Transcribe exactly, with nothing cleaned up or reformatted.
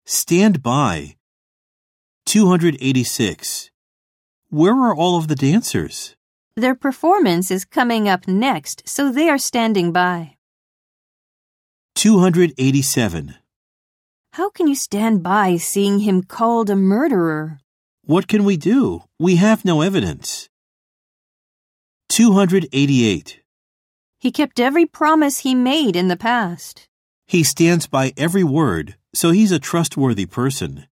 Stand by. two hundred eighty-six. Where are all of the dancers? Their performance is coming up next, so they are standing by. two hundred eighty-seven. How can you stand by seeing him called a murderer? What can we do? We have no evidence. two hundred eighty-eight. He kept every promise he made in the past. He stands by every word, so he's a trustworthy person.